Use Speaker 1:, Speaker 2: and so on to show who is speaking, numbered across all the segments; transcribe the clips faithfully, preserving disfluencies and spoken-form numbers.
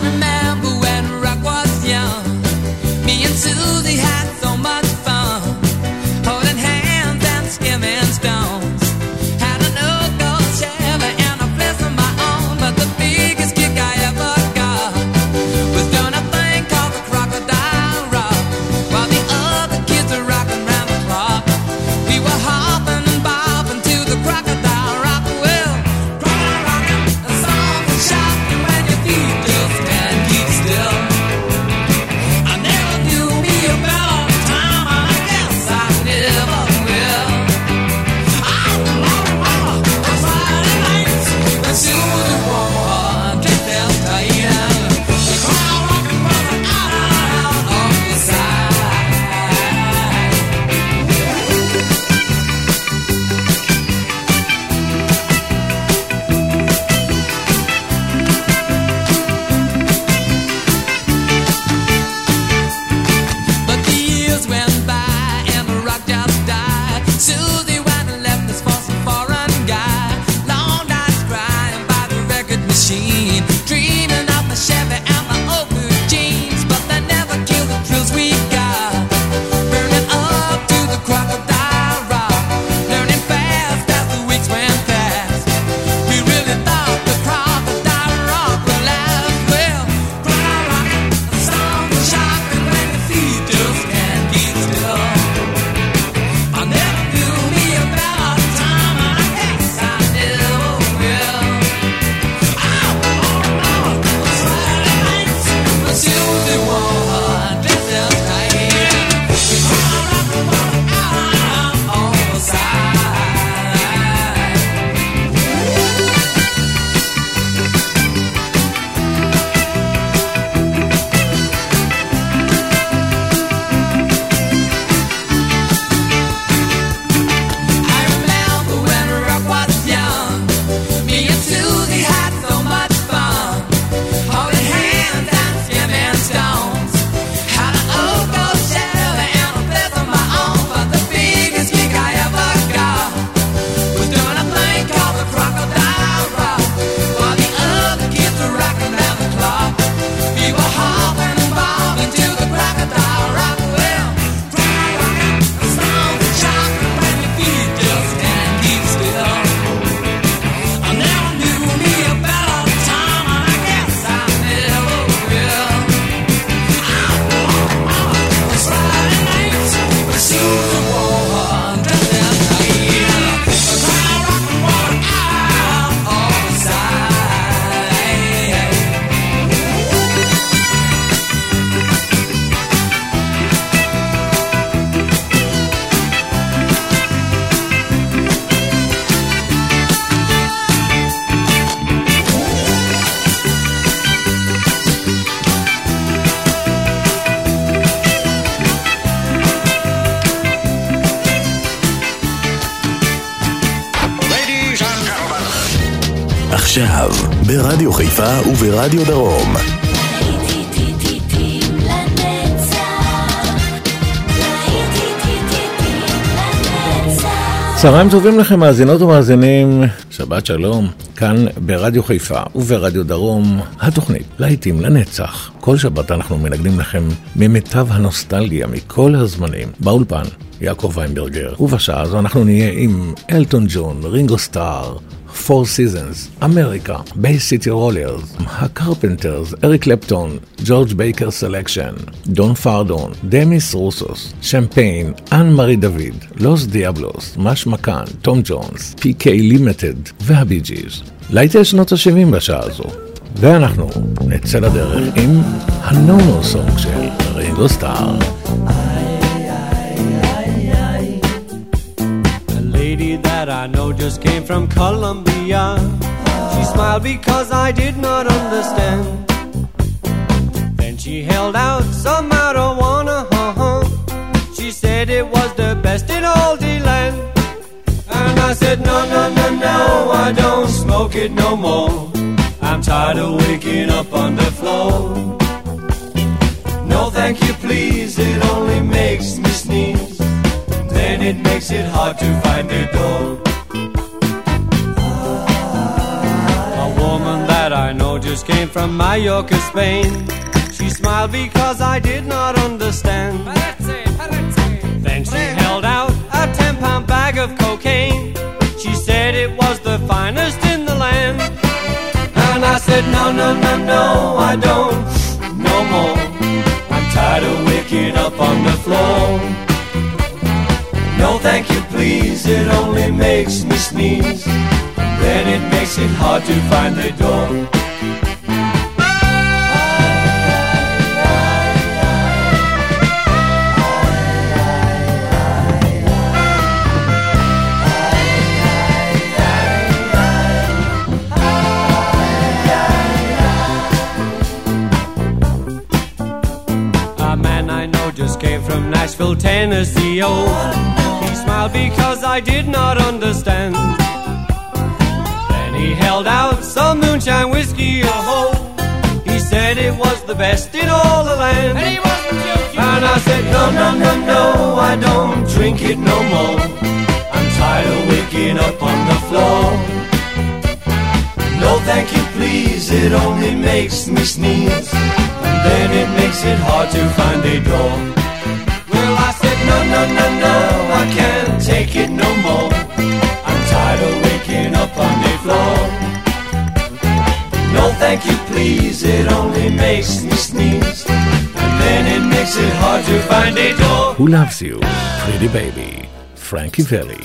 Speaker 1: remember when rock was young. Me and Susie had so much fun, holding hands and skimming stones. Had an old gold Chevy and a place of my own, but the biggest kick I ever got was doing a thing called the Crocodile Rock, while the other kids were rocking round the clock. We were hopping and bopping to the Crocodile Rock. Well, crocodile rocking, a song for shocking when your feet just can't keep still. I never knew me a better time, and I guess I never will. I remember on Friday nights when Susie wore her dress as tight, and the crowd rocking brother out, out, out on the side. But the years went by and the rock just died. Susie went and left us for some foreign guy. Long nights crying by the record machine, dreaming of the Chevy and the old blue jeans. But they never killed the thrills we got, burning up to the Crocodile Rock, learning fast as the weeks went past. We really thought the Crocodile Rock would last. Well, crocodile rocking, a song for shocking when your feet just can't keep still. I never knew me a better time, and I guess I never will. Oh, oh, oh, Friday nights when Susie wore her dress as tight, the crowd rocking brother out, out on the side. I remember when rock was young. Me and Susie had so much fun, holding hands and skimming stones. Had an old gold Chevy and a place of my own, but the biggest kick I ever got was doing a thing called the Crocodile Rock, while the other kids were rocking down the clock. We were hopping and bobbing to the Crocodile Rock. Well, crocodile rocking, a song for shocking when your feet just can't keep still. I never knew me a better time, and I guess I never will. Oh, oh, oh, Friday nights when Susie wore her dress as tight, the crowd rocking water out on the side.
Speaker 2: Ladies and gentlemen.
Speaker 3: עכשיו, ברדיו חיפה וברדיו דרום. צהריים טובים לכם מאזינות ומאזינים, שבת שלום, כאן ברדיו חיפה וברדיו דרום, התוכנית להיטים לנצח. כל שבת אנחנו מנגנים לכם ממיטב הנוסטלגיה מכל הזמנים. באולפן, יעקב ויינברגר, ובשעה הזו אנחנו נהיה עם אלטון ג'ון, רינגו סטאר, Four Seasons, אמריקה, Bay City Rollers, הקרפנטרס, אריק קלפטון, ג'ורג' בייקר סלקשן, דון פארדון, דמיס רוסוס, שמפיין, אן מארי דוד, לוס דיאבלוס, מש מקן, תום ג'ונס, פי קיי לימיטד והבי ג'יז. להיטי שנות ה-שבעים בשעה הזו. ואנחנו נצא לדרך עם הנונו סונג של רינגו סטאר.
Speaker 4: That I know just came from Colombia. She smiled because I did not understand. Then she held out some marijuana. Uh-huh. She said it was the best in all the land. And I said no, no, no, no, I don't smoke it no more. I'm tired of waking up on the floor. No thank you please, it only makes me sneeze. Then it makes it hard to find a door. A woman that I know just came from Mallorca, Spain. She smiled because I did not understand. Then she held out a ten-pound bag of cocaine. She said it was the finest in the land. And I said, no, no, no, no, I don't, no more. I'm tired of waking up on the floor. No, thank you, please, it only makes me sneeze. Then it makes it hard to find the door. A man I know just came from Nashville, Tennessee, oh. He smiled because I did not understand. Then he held out some moonshine whiskey, oh. He said it was the best in all the land. And he wasn't joking. And I said, no, no, no, no, I don't drink it no more. I'm tired of waking up on the floor. No, thank you, please, it only makes me sneeze. And then it makes it hard to find a door. Well, I said, no, no, no, no, I can't take it no more. I'm tired of waking up on the floor. No, thank you, please, it only makes me sneeze. And then it makes it hard to find a door.
Speaker 3: Who Loves You, Pretty Baby, Frankie Valli.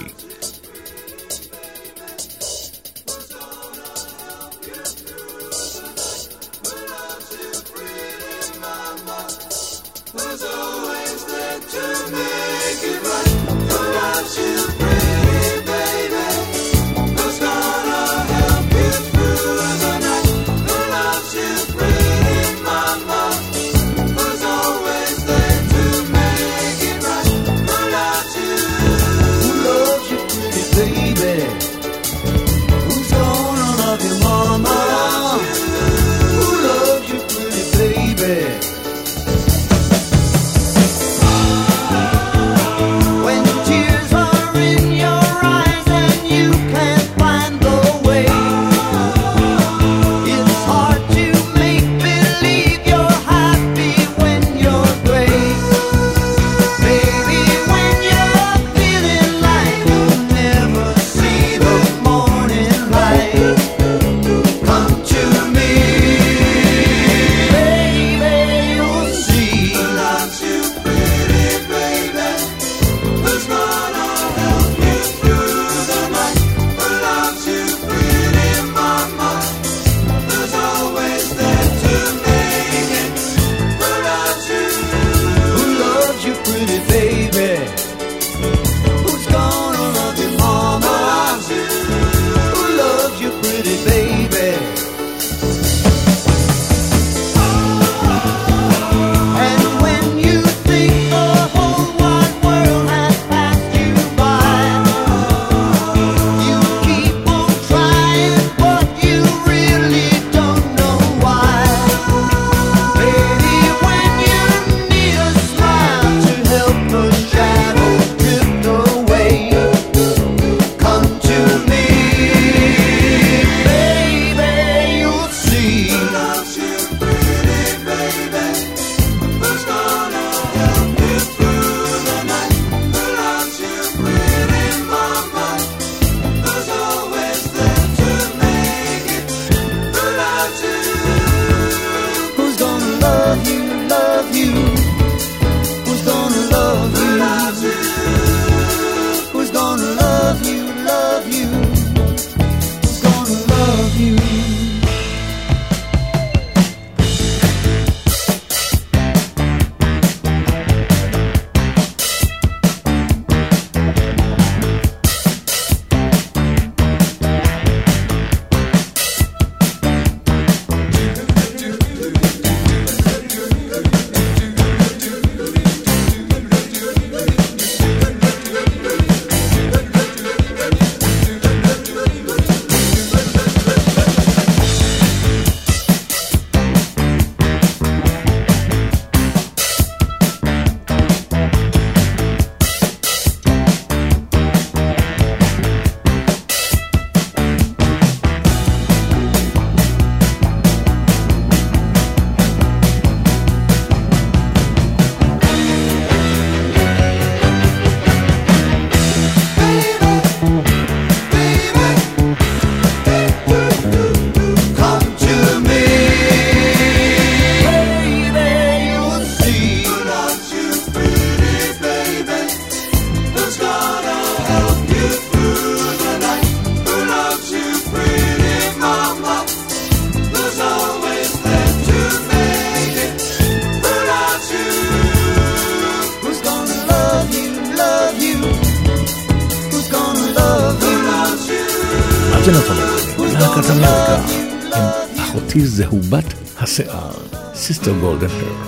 Speaker 3: להקת אמריקה עם אחותי זהובת השיער, Sister Golden Hair.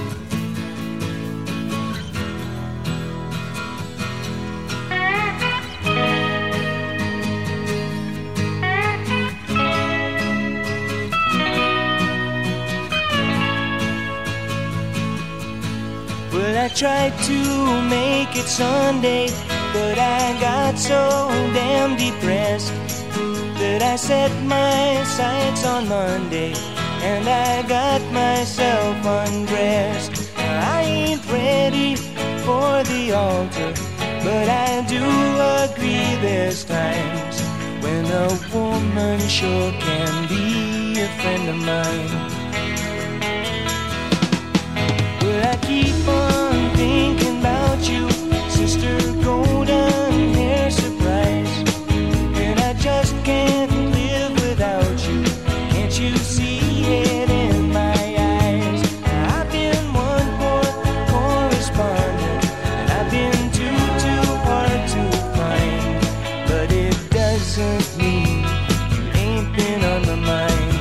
Speaker 5: I tried to make it Sunday, but I got so damn depressed that I set my sights on Monday and I got myself undressed. I ain't ready for the altar, but I do agree there's times when a woman sure can be a friend of mine. Will I keep on thinking about you, Sister Golden Hair Surprise? And I just can't live without you. Can't you see it in my eyes? I've been one poor correspondent, and I've been too, too hard to find. But it doesn't mean you ain't been on my mind.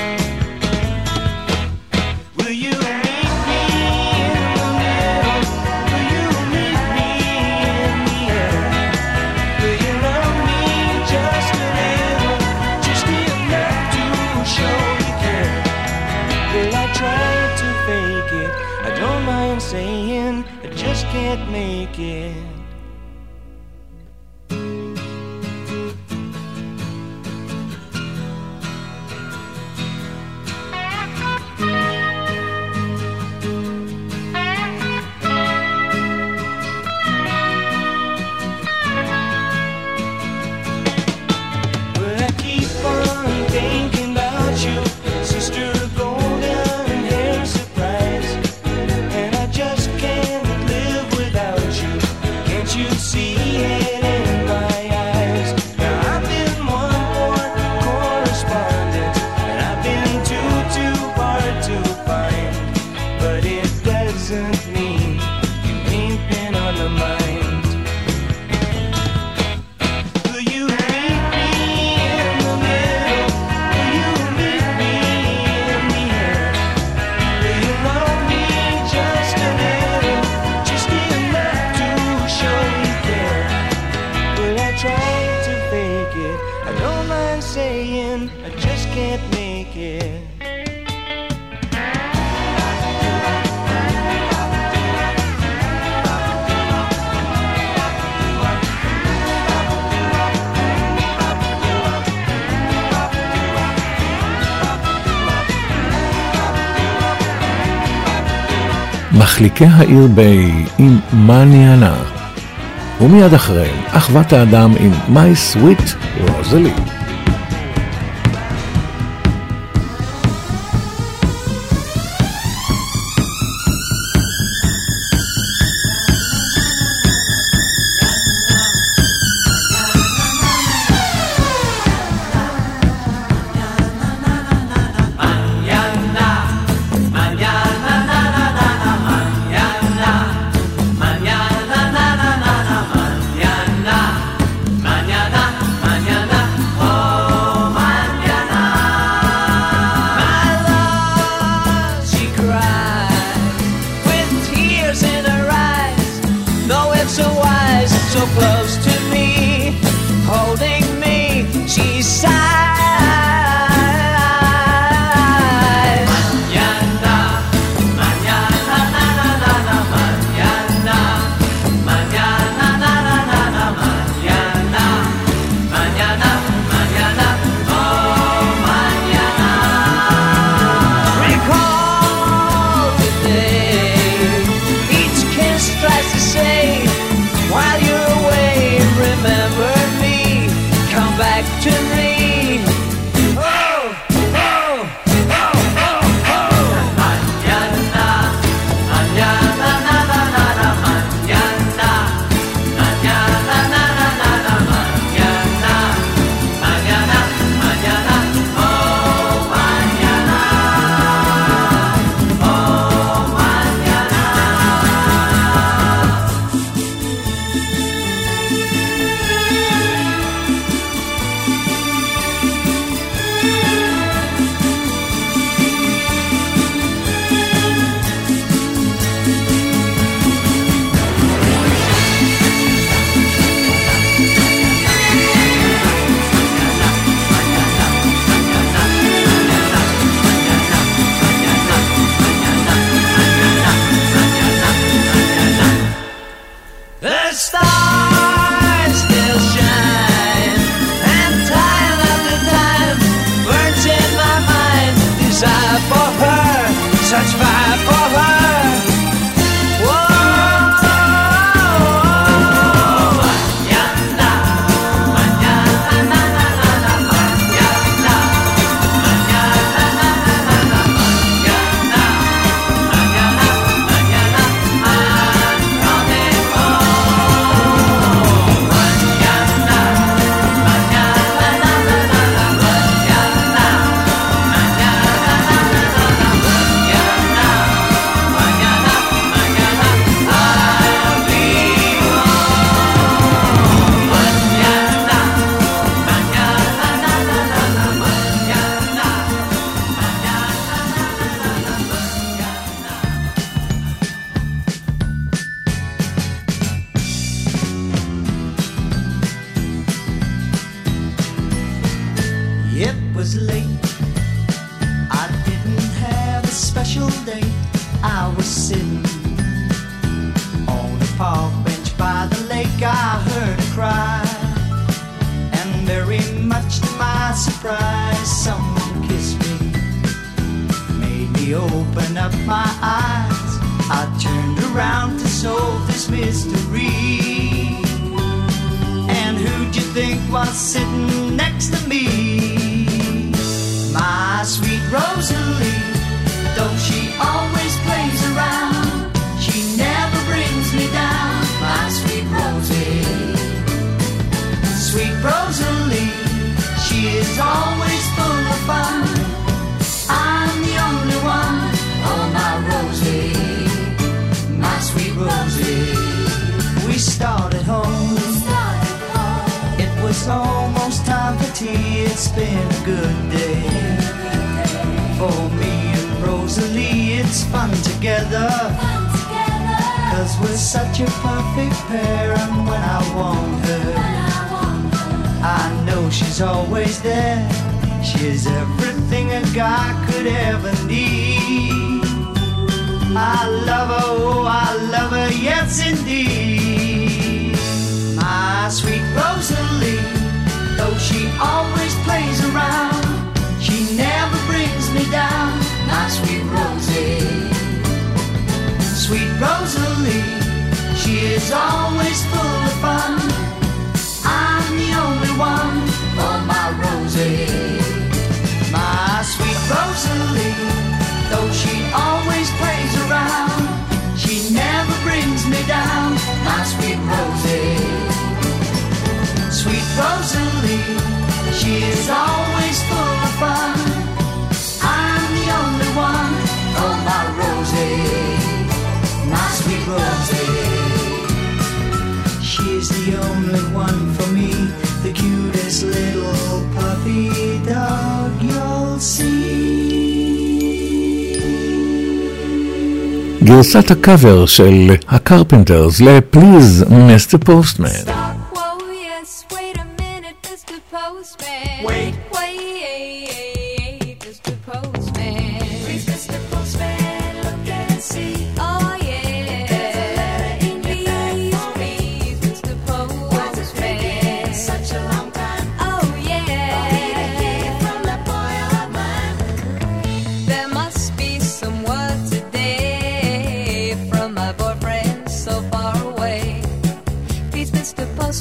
Speaker 5: Will you meet me in the middle? Will you meet me in the air? Will you love me just a little, just enough to show you care? Will I try to fake it? I don't mind saying I just can't make it. Will I keep on thinking about you, Sister Golden Hair Surprise? And I just can't live without you. Can't you see it in my eyes? Now I've been one more correspondent, and I've been too, too hard to find. But it doesn't mean you ain't been on my mind. Will you meet me in the middle? Will you meet me in the air? Will you love me just a little, just enough to show you care? Will I try to fake it? I don't mind saying I just can't make it.
Speaker 3: מחליקי העיר ביי עם מניאנה, ומיד אחריהם אחוות האדם עם My Sweet Rosalie.
Speaker 5: While you're away
Speaker 6: day I was sitting on the park bench by the lake. I heard a cry, and very much to my surprise, someone kissed me, made me open up my eyes. I turned around to solve this mystery. And who'd you think was sitting next to me? My sweet Rosalie, though she always plays around, she never brings me down. My sweet Rosie, sweet Rosalie, she is always full of fun. I'm the only one, oh my Rosie, my sweet Rosie. We started home, it was almost time for tea. It's been a good day for me and Rosalie. It's fun together, cause we're such a perfect pair. And when I want her, I know she's always there. She's everything a guy could ever need. I love her, oh I love her, yes indeed. My sweet Rosalie, though she always plays around, she never brings me down. My sweet Rosie, sweet Rosalie, she is always full of fun. I'm the only one, oh my Rosie, my sweet Rosalie, though she always plays around, she never brings me down. My sweet Rosie, sweet Rosalie, she is always full of fun. I'm the only one, oh my Rosie, my sweet Rosie. She's the only one for me, the cutest little puppy dog you'll see.
Speaker 3: גרסת הקאבר של הקרפנטרס ל-Please מיסטר Postman.
Speaker 7: Whoa, yes, wait a minute, Mister Postman.
Speaker 6: Wait.
Speaker 7: Wait, Mister Postman. Please, Mister Postman, look and see. Oh, yeah. There's a letter in your bag for me. Please, Mister Postman. What's taking such a long time? Oh, yeah. For me to hear from that boy of mine. There must be some word today from my boyfriend so far away. Please, Mister Postman.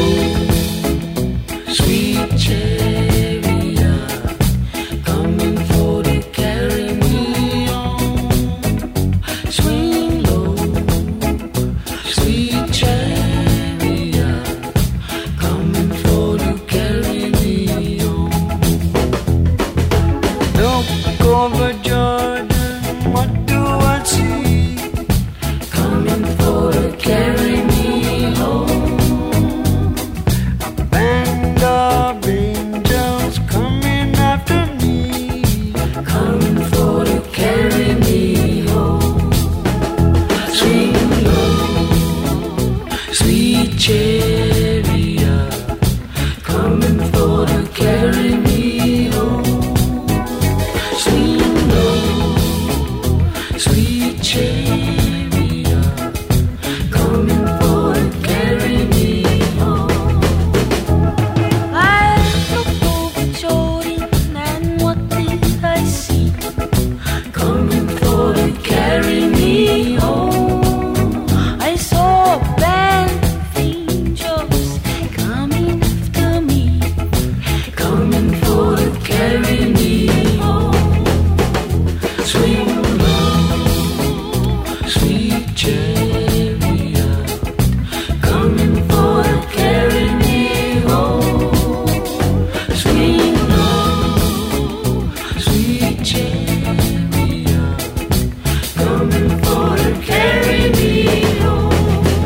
Speaker 8: sweet chariot, coming for to carry me home. Swing low, sweet chariot, coming for to carry me home. Look over Jordan, what do I see? Coming for to carry me home. A band of angels coming after me, coming for to carry me home. Swing low, sweet chariot, coming for to carry me home. Swing low, sweet chariot, coming for to carry me home.
Speaker 6: I looked over Jordan and what did I see?
Speaker 8: Coming for to carry me home.
Speaker 6: I saw a band of angels coming after me,
Speaker 8: Coming for to carry me home. Swing low, sweet chariot, coming for to carry me home. Swing low, sweet chariot, coming for to carry me home.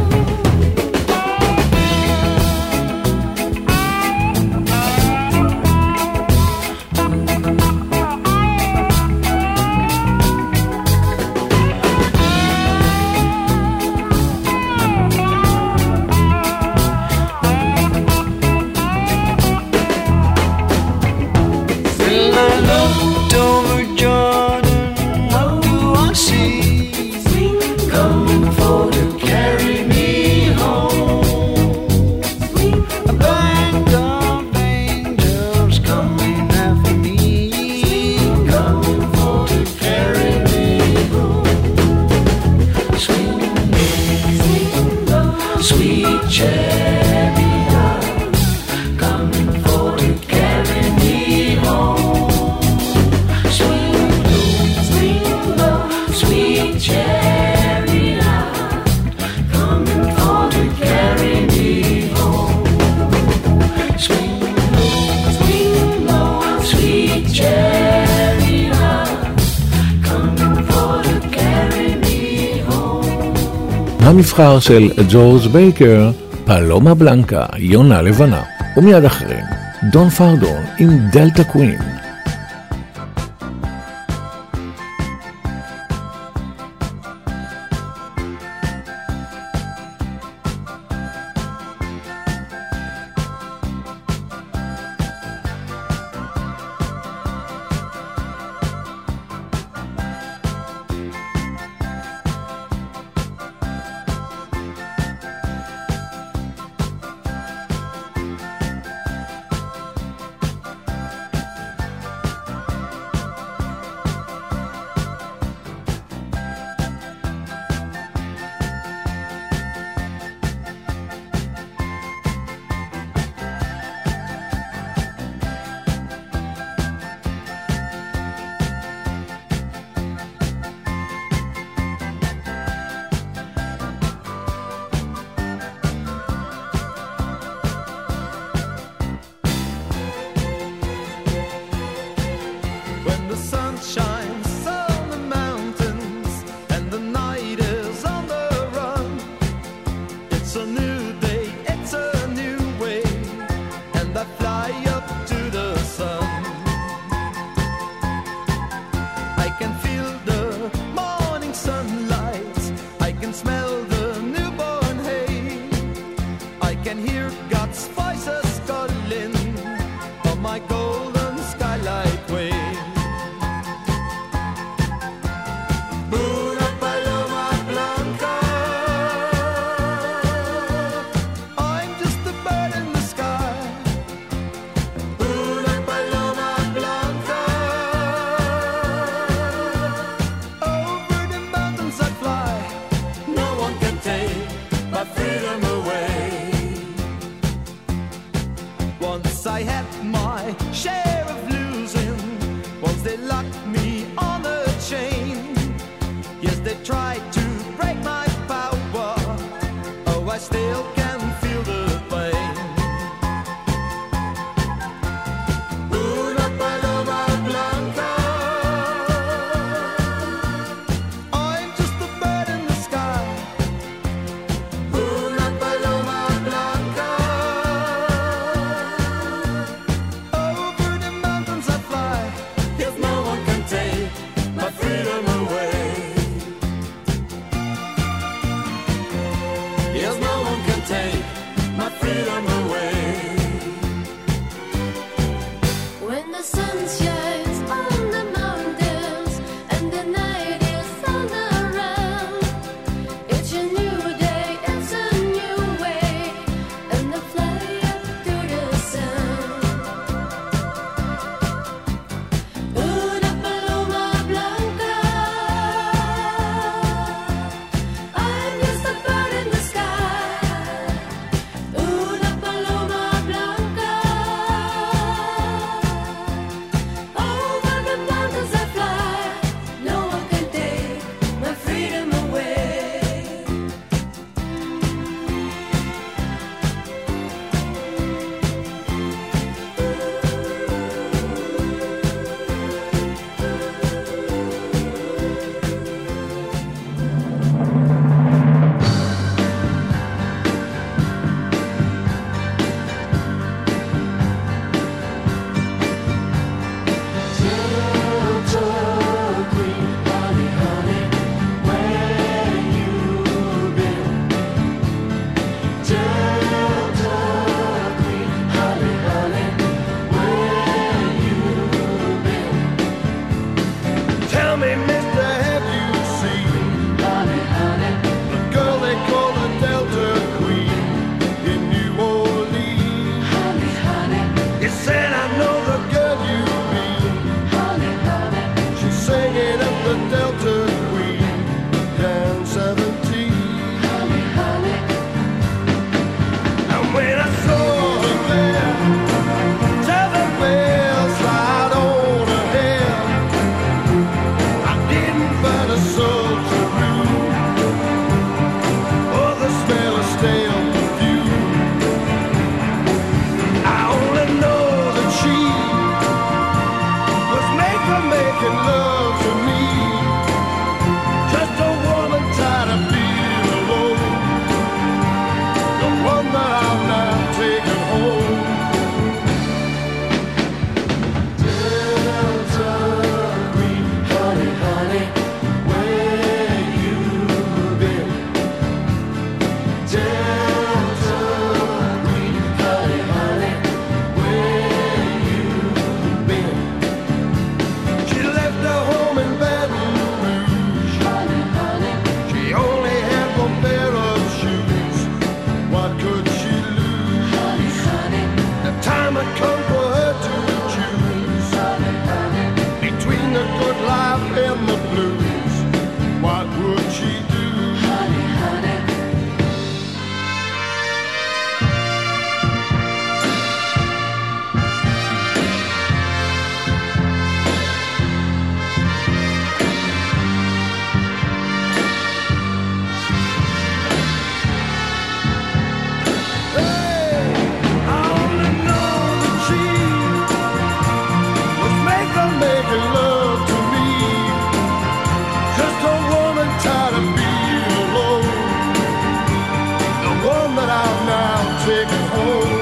Speaker 8: When I looked over Jordan, what do I see? Coming for to carry me home. A band of angels coming after me, coming for to carry me home. Swing low, sweet chariot, coming for to carry me home. Swing low, swing low, sweet chariot, coming for to carry me home. Swing low, swing low, sweet chariot, coming for to carry me home.
Speaker 3: המבחר של ג'ורג' בייקר, פלומה בלנקה, יונה לבנה, ומיד אחריהם, דון פרדון עם דלטה קווין.
Speaker 9: When the sun shines on the mountains and the night is on the run, it's a new day, it's a new way, and I fly up to the sun. I can feel the morning sunlight, I can smell the newborn hay, I can hear God's voices calling on my golden skylight way. Una paloma blanca, I'm just a bird in the sky. Una paloma blanca, over the mountains I fly. No one can take my freedom away. I had my share of losing. Once they locked me on a chain. Yes, they tried to break my power. Oh, I still can feel the pain. Una paloma blanca. I'm just a bird in the sky. Una paloma blanca. Over the mountains I fly. Yes, no one can take my freedom away. Yes, no one can take my freedom away.
Speaker 7: When the sun shines on the mountains and the night is all around, it's a new day, it's a new way, and I fly up to the sun. Una paloma blanca. I'm just a bird in the sky. Una paloma blanca. Over the mountains I fly. No one can take my freedom away.
Speaker 9: Tell me, mister, have you seen the girl they call the Delta Queen in New Orleans? You said I know the girl you mean. She's singing up the Delta Queen down seventeen. And when I saw her there, seven bells right on her head, I didn't find a soul to move, or the smell of stale perfume. I only know that she was made for making love to me, just a woman tired of being alone, the one that I've now taken home. Delta Queen, honey, honey, where you been? Delta Queen, honey, honey, where you been? She left her home in Baton Rouge. She only had one pair of shoes. What could she lose? The time had come for her to choose between the good life and the blues. What would she do? Hey, I only know that she was making, making love to me, just a woman tired of being alone, the one that I've now taken home.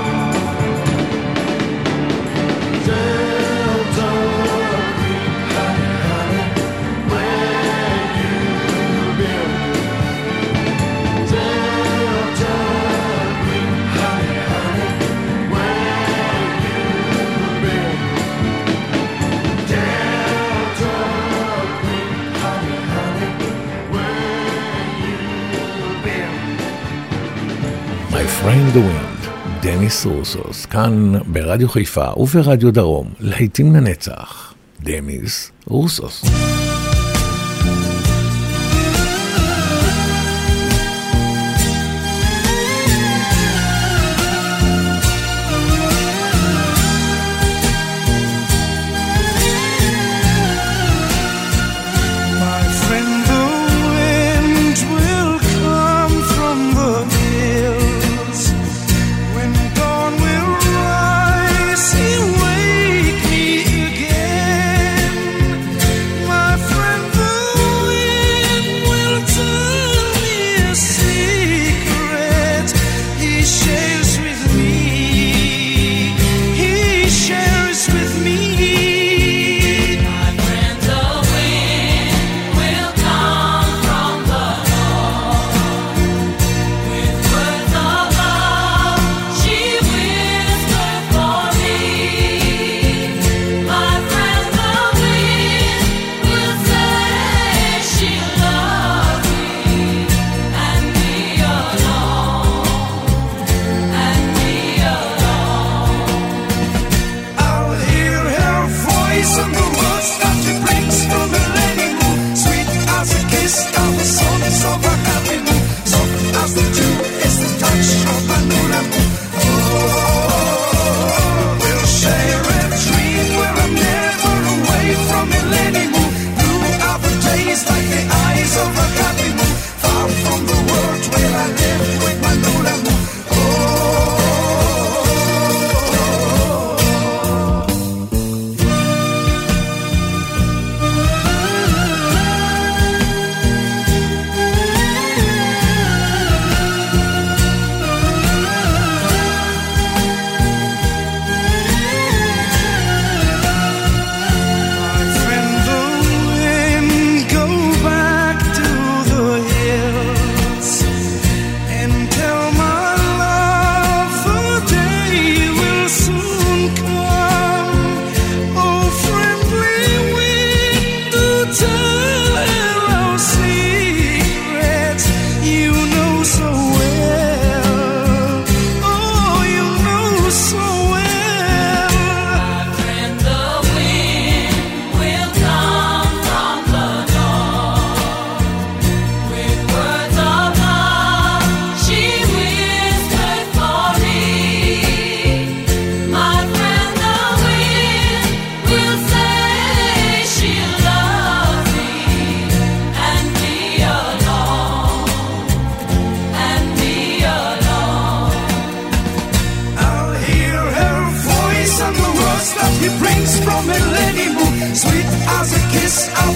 Speaker 9: Delta Queen, honey, honey, where you been? Delta Queen, honey, honey, where you been? Delta Queen, honey, honey, where you been?
Speaker 3: My friend the wind, דניס רוסוס, כאן ברדיו חיפה וברדיו דרום, להיטים לנצח, דניס רוסוס.
Speaker 7: Thank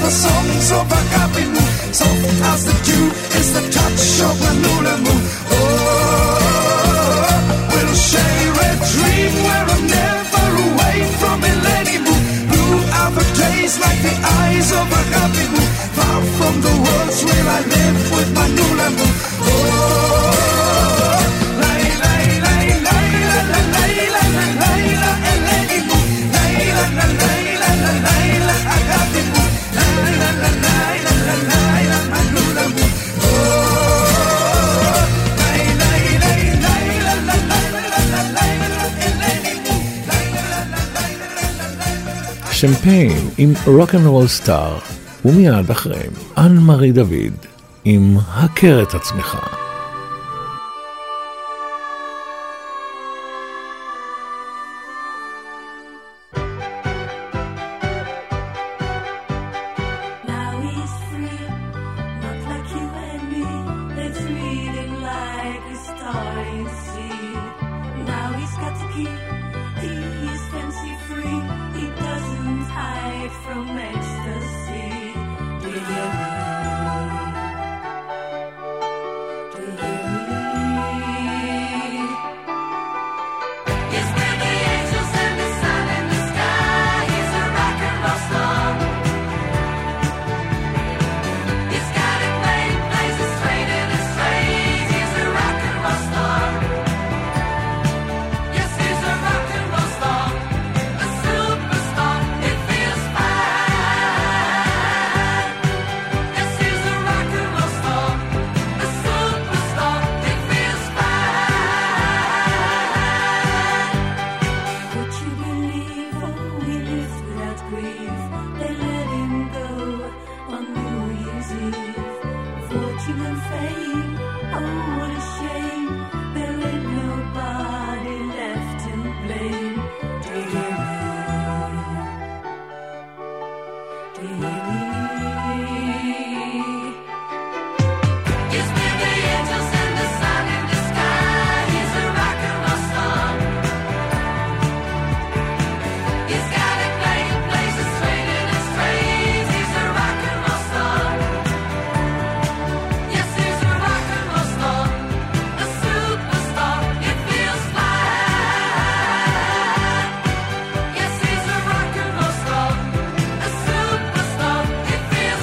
Speaker 9: the songs of Agapimu. Soft as the dew is the touch of the Nulemu. Oh, we'll share a dream where I'm never away from Elenimu. Blue are the days like the eyes of Agapimu. Far from the worlds where I live with my Nulemu. Oh, Layla, Layla, Layla, Layla, Layla, Elenimu. Layla, Layla, Layla, Agapimu. Layla, Layla, Layla, my Nulemu. Oh, Layla, Layla, Layla, Layla, Layla, Elenimu. Layla, Layla.
Speaker 3: שמפיין עם רוק'נ'רול סטאר, ומיד אחריהם אן מארי דוד עם הכר את עצמך.
Speaker 6: Now he's free, not like you and me. That's reading like a starry sea. Now he's got the key, he is fancy free. He doesn't hide from ecstasy. Do you hear me? Do you hear me? He's with the angels and the sun in the sky. He's a rock and roll star. He's got it made, places straight in his strays. He's a rock and roll star. Yes, he's a rock and roll star. A superstar, it feels fine. Yes, he's a rock and roll star. A superstar, it feels fine. Would you believe, oh, he lives without grief? They let him go on New Year's Eve. Fortune and fame, oh, what a shame. There ain't nobody left to blame. Do you hear me? Do you hear me? He's with the angels and the sun in the sky. He's a rock and roll star. He's got it playing places straight in his strays. He's a rock and roll star. Yes, he's a rock and roll star. A superstar, it feels fine. Yes, he's a rock and roll star. A superstar, it feels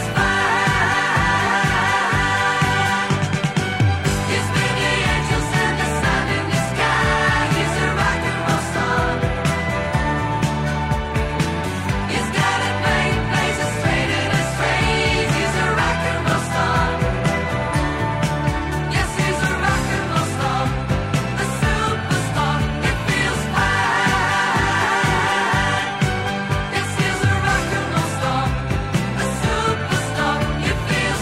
Speaker 6: fine. He's with the angels and the sun in the sky. He's a rock and roll star. He's got it made, places straight in his strays. He's a rock and roll star. Yes, he's a rock and roll star. A superstar, it feels fine. Yes, he's a rock and roll star. A superstar, it feels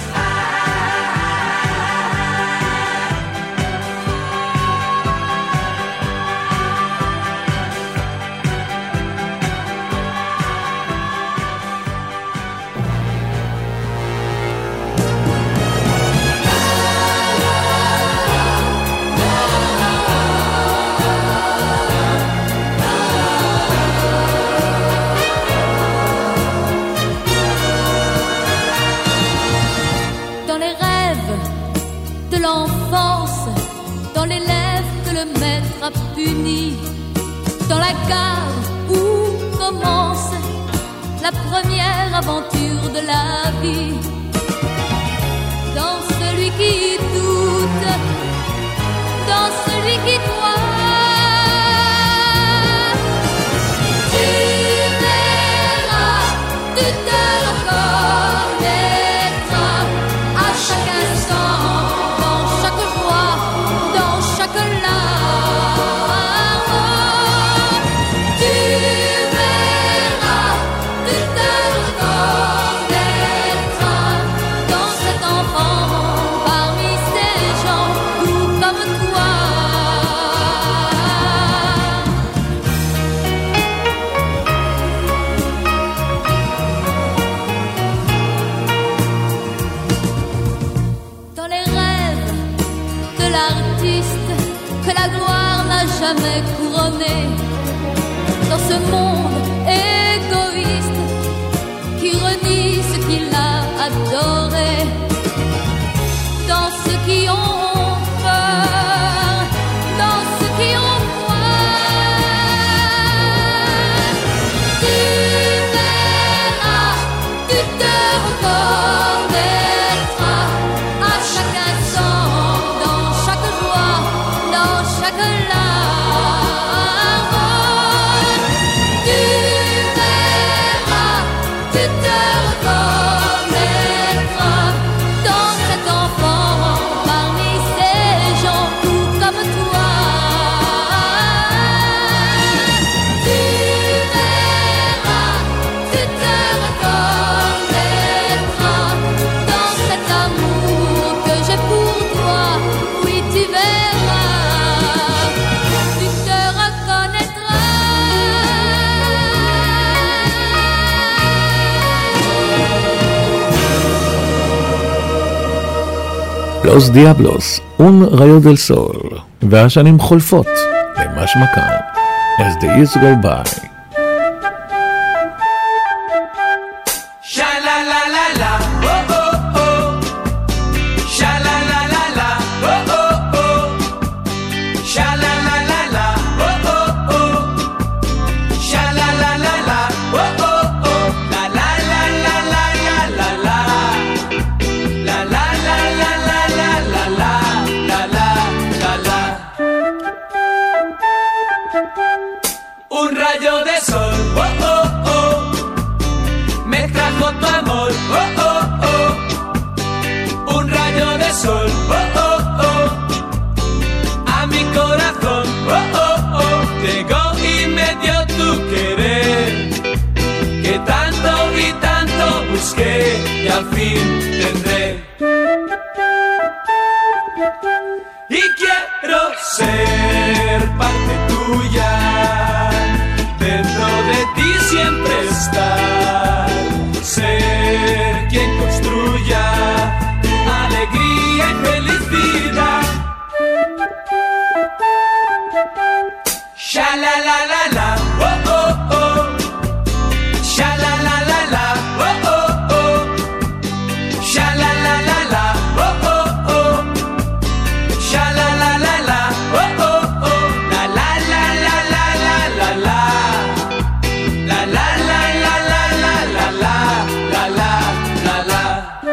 Speaker 7: Dans les rêves de l'enfance, dans les lèvres que le maître a puni, dans la gare où commence la première aventure de la vie, dans celui qui doute, dans celui qui croit. Tu verras, tu te reconnaîtras à chaque instant, dans chaque joie, dans chaque larme. Tu verras, tu te reconnaîtras dans cet enfant, parmi ces gens tout comme toi. Dans les rêves de l'artiste que la gloire n'a jamais couronné, dans ce monde égoïste qui renie ce qu'il a adoré. Dans ceux qui ont peur, dans ceux qui ont foi, tu verras, tu te reconnaîtras à chaque instant, dans chaque joie, dans chaque larme. Tu verras, tu te reconnaîtras dans cet enfant parmi ces gens tout comme toi. Tu verras, tu te reconnaîtras dans cet amour que j'ai pour toi. Oui, tu verras, tu te reconnaîtras.
Speaker 3: לוס דיאבלוס, un rayo del sol, והשנים חולפות, למשמע כאן, as the years go by.
Speaker 1: Sha la la la la, oh oh oh. Sha la la la la, oh oh oh. Sha la la la la, oh oh oh. Sha la la la la, oh oh oh. La la la la la la la la. La la la la la la la la. La la la la. Un rayo de sol, oh oh oh. Me trajo tu amor, oh oh oh. Un rayo de sol, oh oh oh. A mi corazón, oh oh oh. Llegó y me dio tu querer, que tanto y tanto busqué y al fin tendré. Y quiero ser parte tuya, dentro de ti siempre estar, ser quien construya tu alegría y felicidad. Sha la la la la, oh oh oh. Sha la la la la, oh oh oh. Sha la la la la, oh oh oh. Sha la la la la, oh oh oh. La la la la la la la la. La la la la la la la la. La la la la.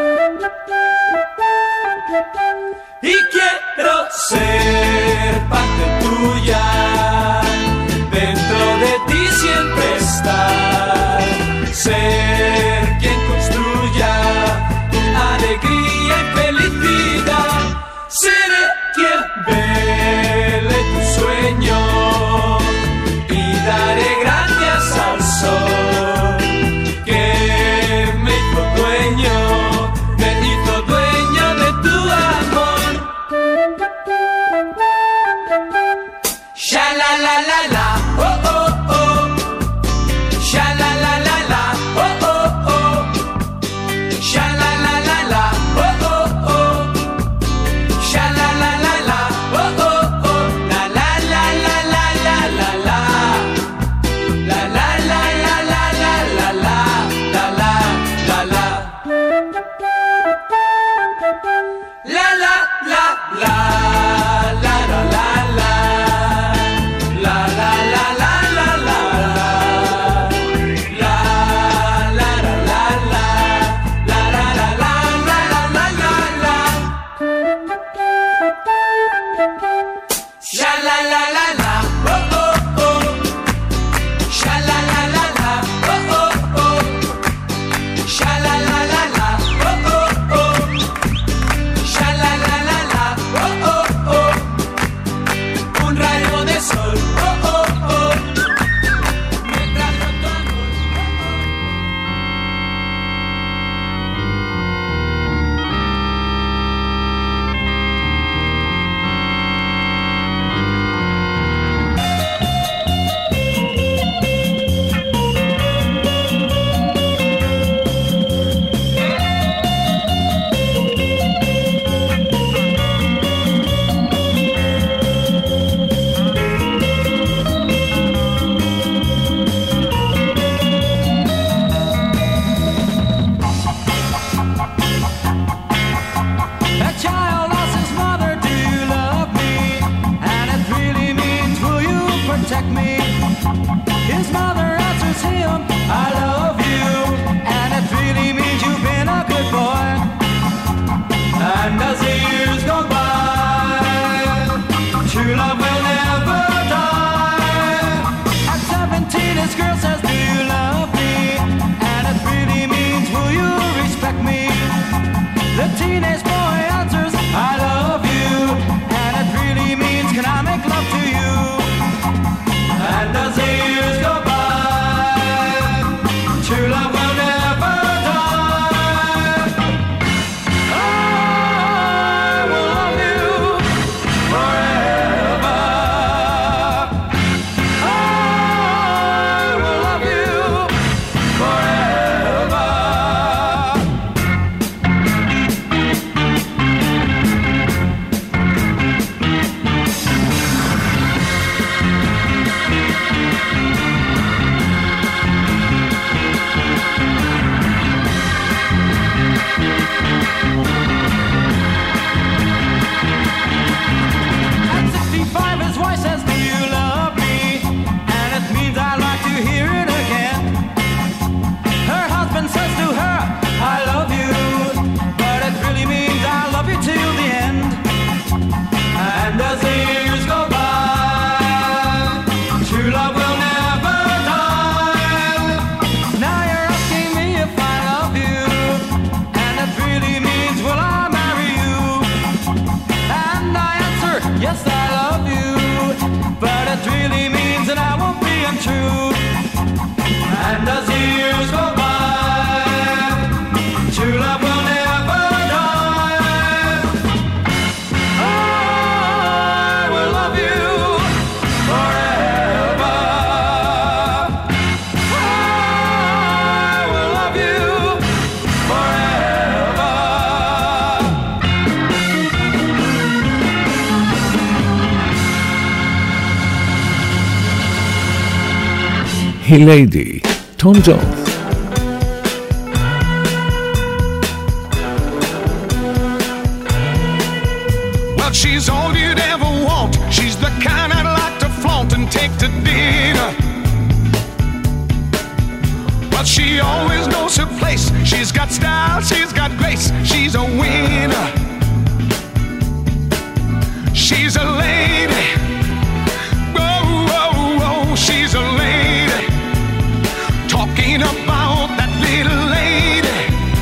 Speaker 1: Y quiero ser parte tuya, dentro de ti siempre estar, ser quien construya tu alegría y felicidad. Seré quien vele tu sueño y daré gracias al sol que me hizo dueño, me hizo dueño de tu amor. Sha la la la la, oh oh oh. Sha la la la la, oh oh oh. Sha la la la la, oh oh oh. Sha la la la la, oh oh oh. La la la la la la la la. La la la la la la la la. La la la la. La la la la. La la la la. La la la la la la. La la la la la. La la la la la la la la. Sha la la la la, oh oh oh. Sha la la la la, oh oh oh. Sha la la la la, oh oh oh. Sha la la la la, oh oh oh. Un rayo de sol, oh oh oh. Me trajo tu amor, oh oh.
Speaker 9: love will never die. At seventeen, this girl says, do you love me? And it really means, will you respect me? The teenage boy answers, I love you. And it really means, can I make love to you? And as the years go by, true love will never die. I will love you forever. I will love you forever. At sixty-five, his wife says, do you love me? And it means I'd like to hear it again. Her husband says to her, I love you. But it really means I love you till the end. And as the years go by, true love will never die. Now you're asking me if I love you. And it really means, will I marry you? And I answer, yes, I love you. But it really means that I won't be untrue. And as the years go by, true love will never die. I will love you forever. I will love you forever.
Speaker 3: היא ליידי, טום ג'ונס.
Speaker 2: Well, she's all you'd ever want. She's the kind I'd like to flaunt and take to dinner. Well, she always knows her place. She's got style, she's got grace. She's a winner. She's a lady. Whoa, whoa, whoa, she's a lady. Talking about that little lady.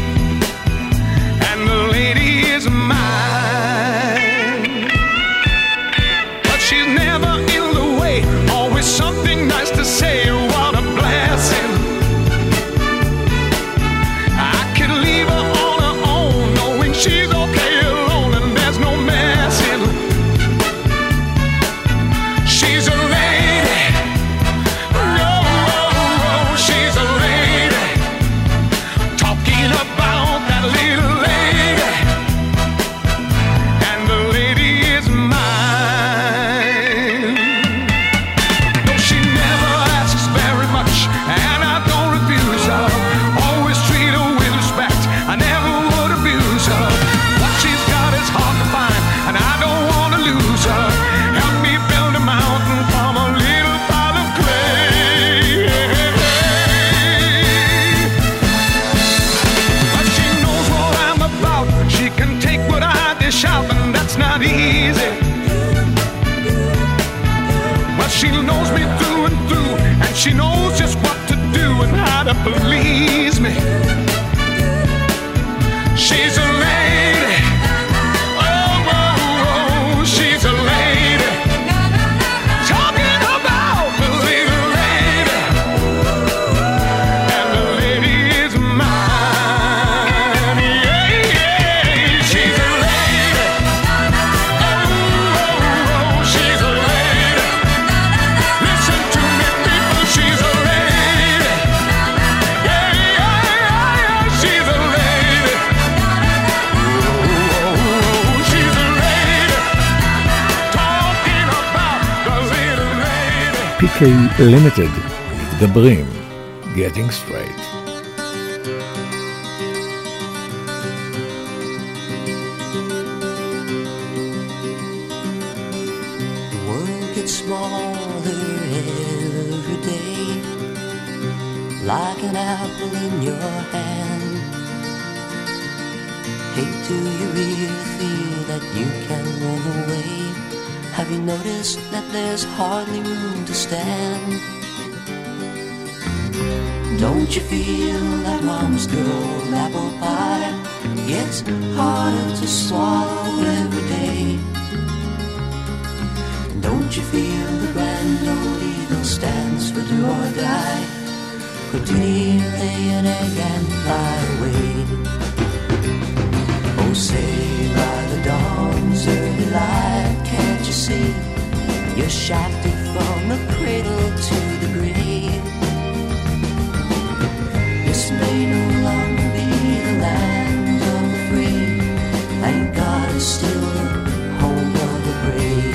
Speaker 2: And the lady is mine. But she's never in the way. Always something nice to say. What a blessing. I could leave her on her own, knowing she's okay alone and there's no messing. She's a lady. No, she's a lady. Talking about that little lady. And the lady is mine. No, she never asks very much, and I don't refuse her. Always treat her with respect. I never would abuse her. What she's got is hard to find, and I don't want to lose her. Help me build a mountain from a little pile of clay. But she knows what I'm about. She can take what I dish out, and that's not easy. Well, she knows me through and through, and she knows just what to do and how to please me. She's a lady. Oh, oh, oh, she's a lady. Talking about the little lady. And the lady is mine. Yeah, yeah, she's a lady. Oh, oh, oh, she's a lady. Listen to me, people, she's a lady. Yeah, yeah, yeah, yeah, she's a lady. Oh, she's a lady. Talking about the little lady.
Speaker 3: פי קיי Limited, מתגברים, Getting Straight.
Speaker 10: The world gets smaller every day, like an apple in your hand. Hey, do you really feel that you can run away? Have you noticed that there's hardly room to stand? Don't you feel that mom's good old apple pie gets harder to swallow every day? Don't you feel the grand old eagle stands for do or die? Or did he lay an egg and fly away? Oh, say by the dawn's early light, can't you see? You're shafted from the cradle to the grave. This may no longer be the land of the free. Thank God it's still the home of the brave.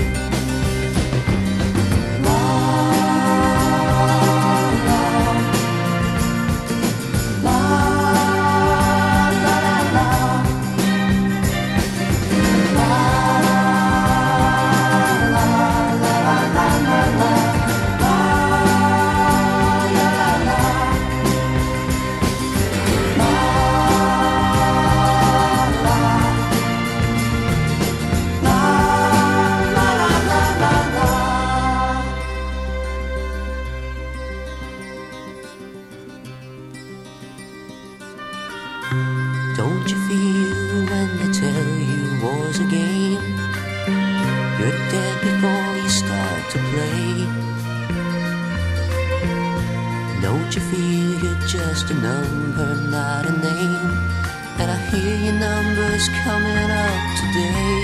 Speaker 10: Don't you feel when they tell you war's a game? You're dead before you start to play. Don't you feel you're just a number, not a name? And I hear your numbers coming up today.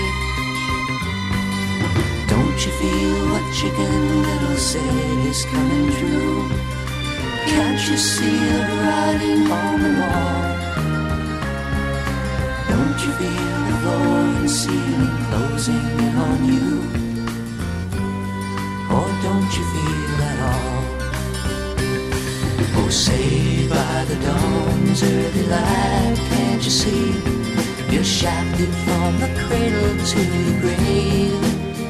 Speaker 10: Don't you feel what Chicken Little said is coming true? Can't you see the writing on the wall? Don't you feel the floor and ceiling closing in on you? Or don't you feel at all? Oh, say by the dawn's early light, can't you see? You're shafted from the cradle to the grave.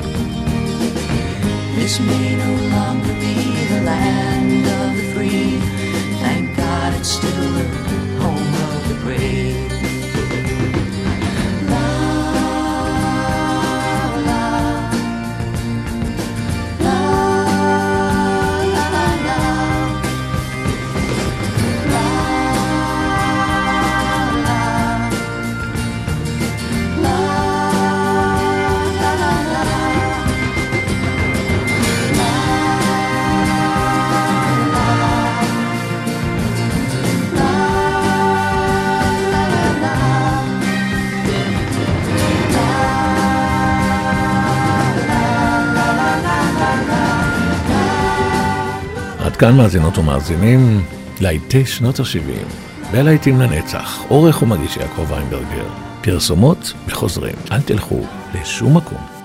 Speaker 10: This may no longer be the land of the free. Thank God it's still the home of the brave.
Speaker 3: כאן מאזינות ומאזינים, להיטי שנות ה-שבעים, בלהיטים לנצח, עורך ומגיש יעקב ויינברגר, פרסומות וחוזרים, אל תלכו לשום מקום.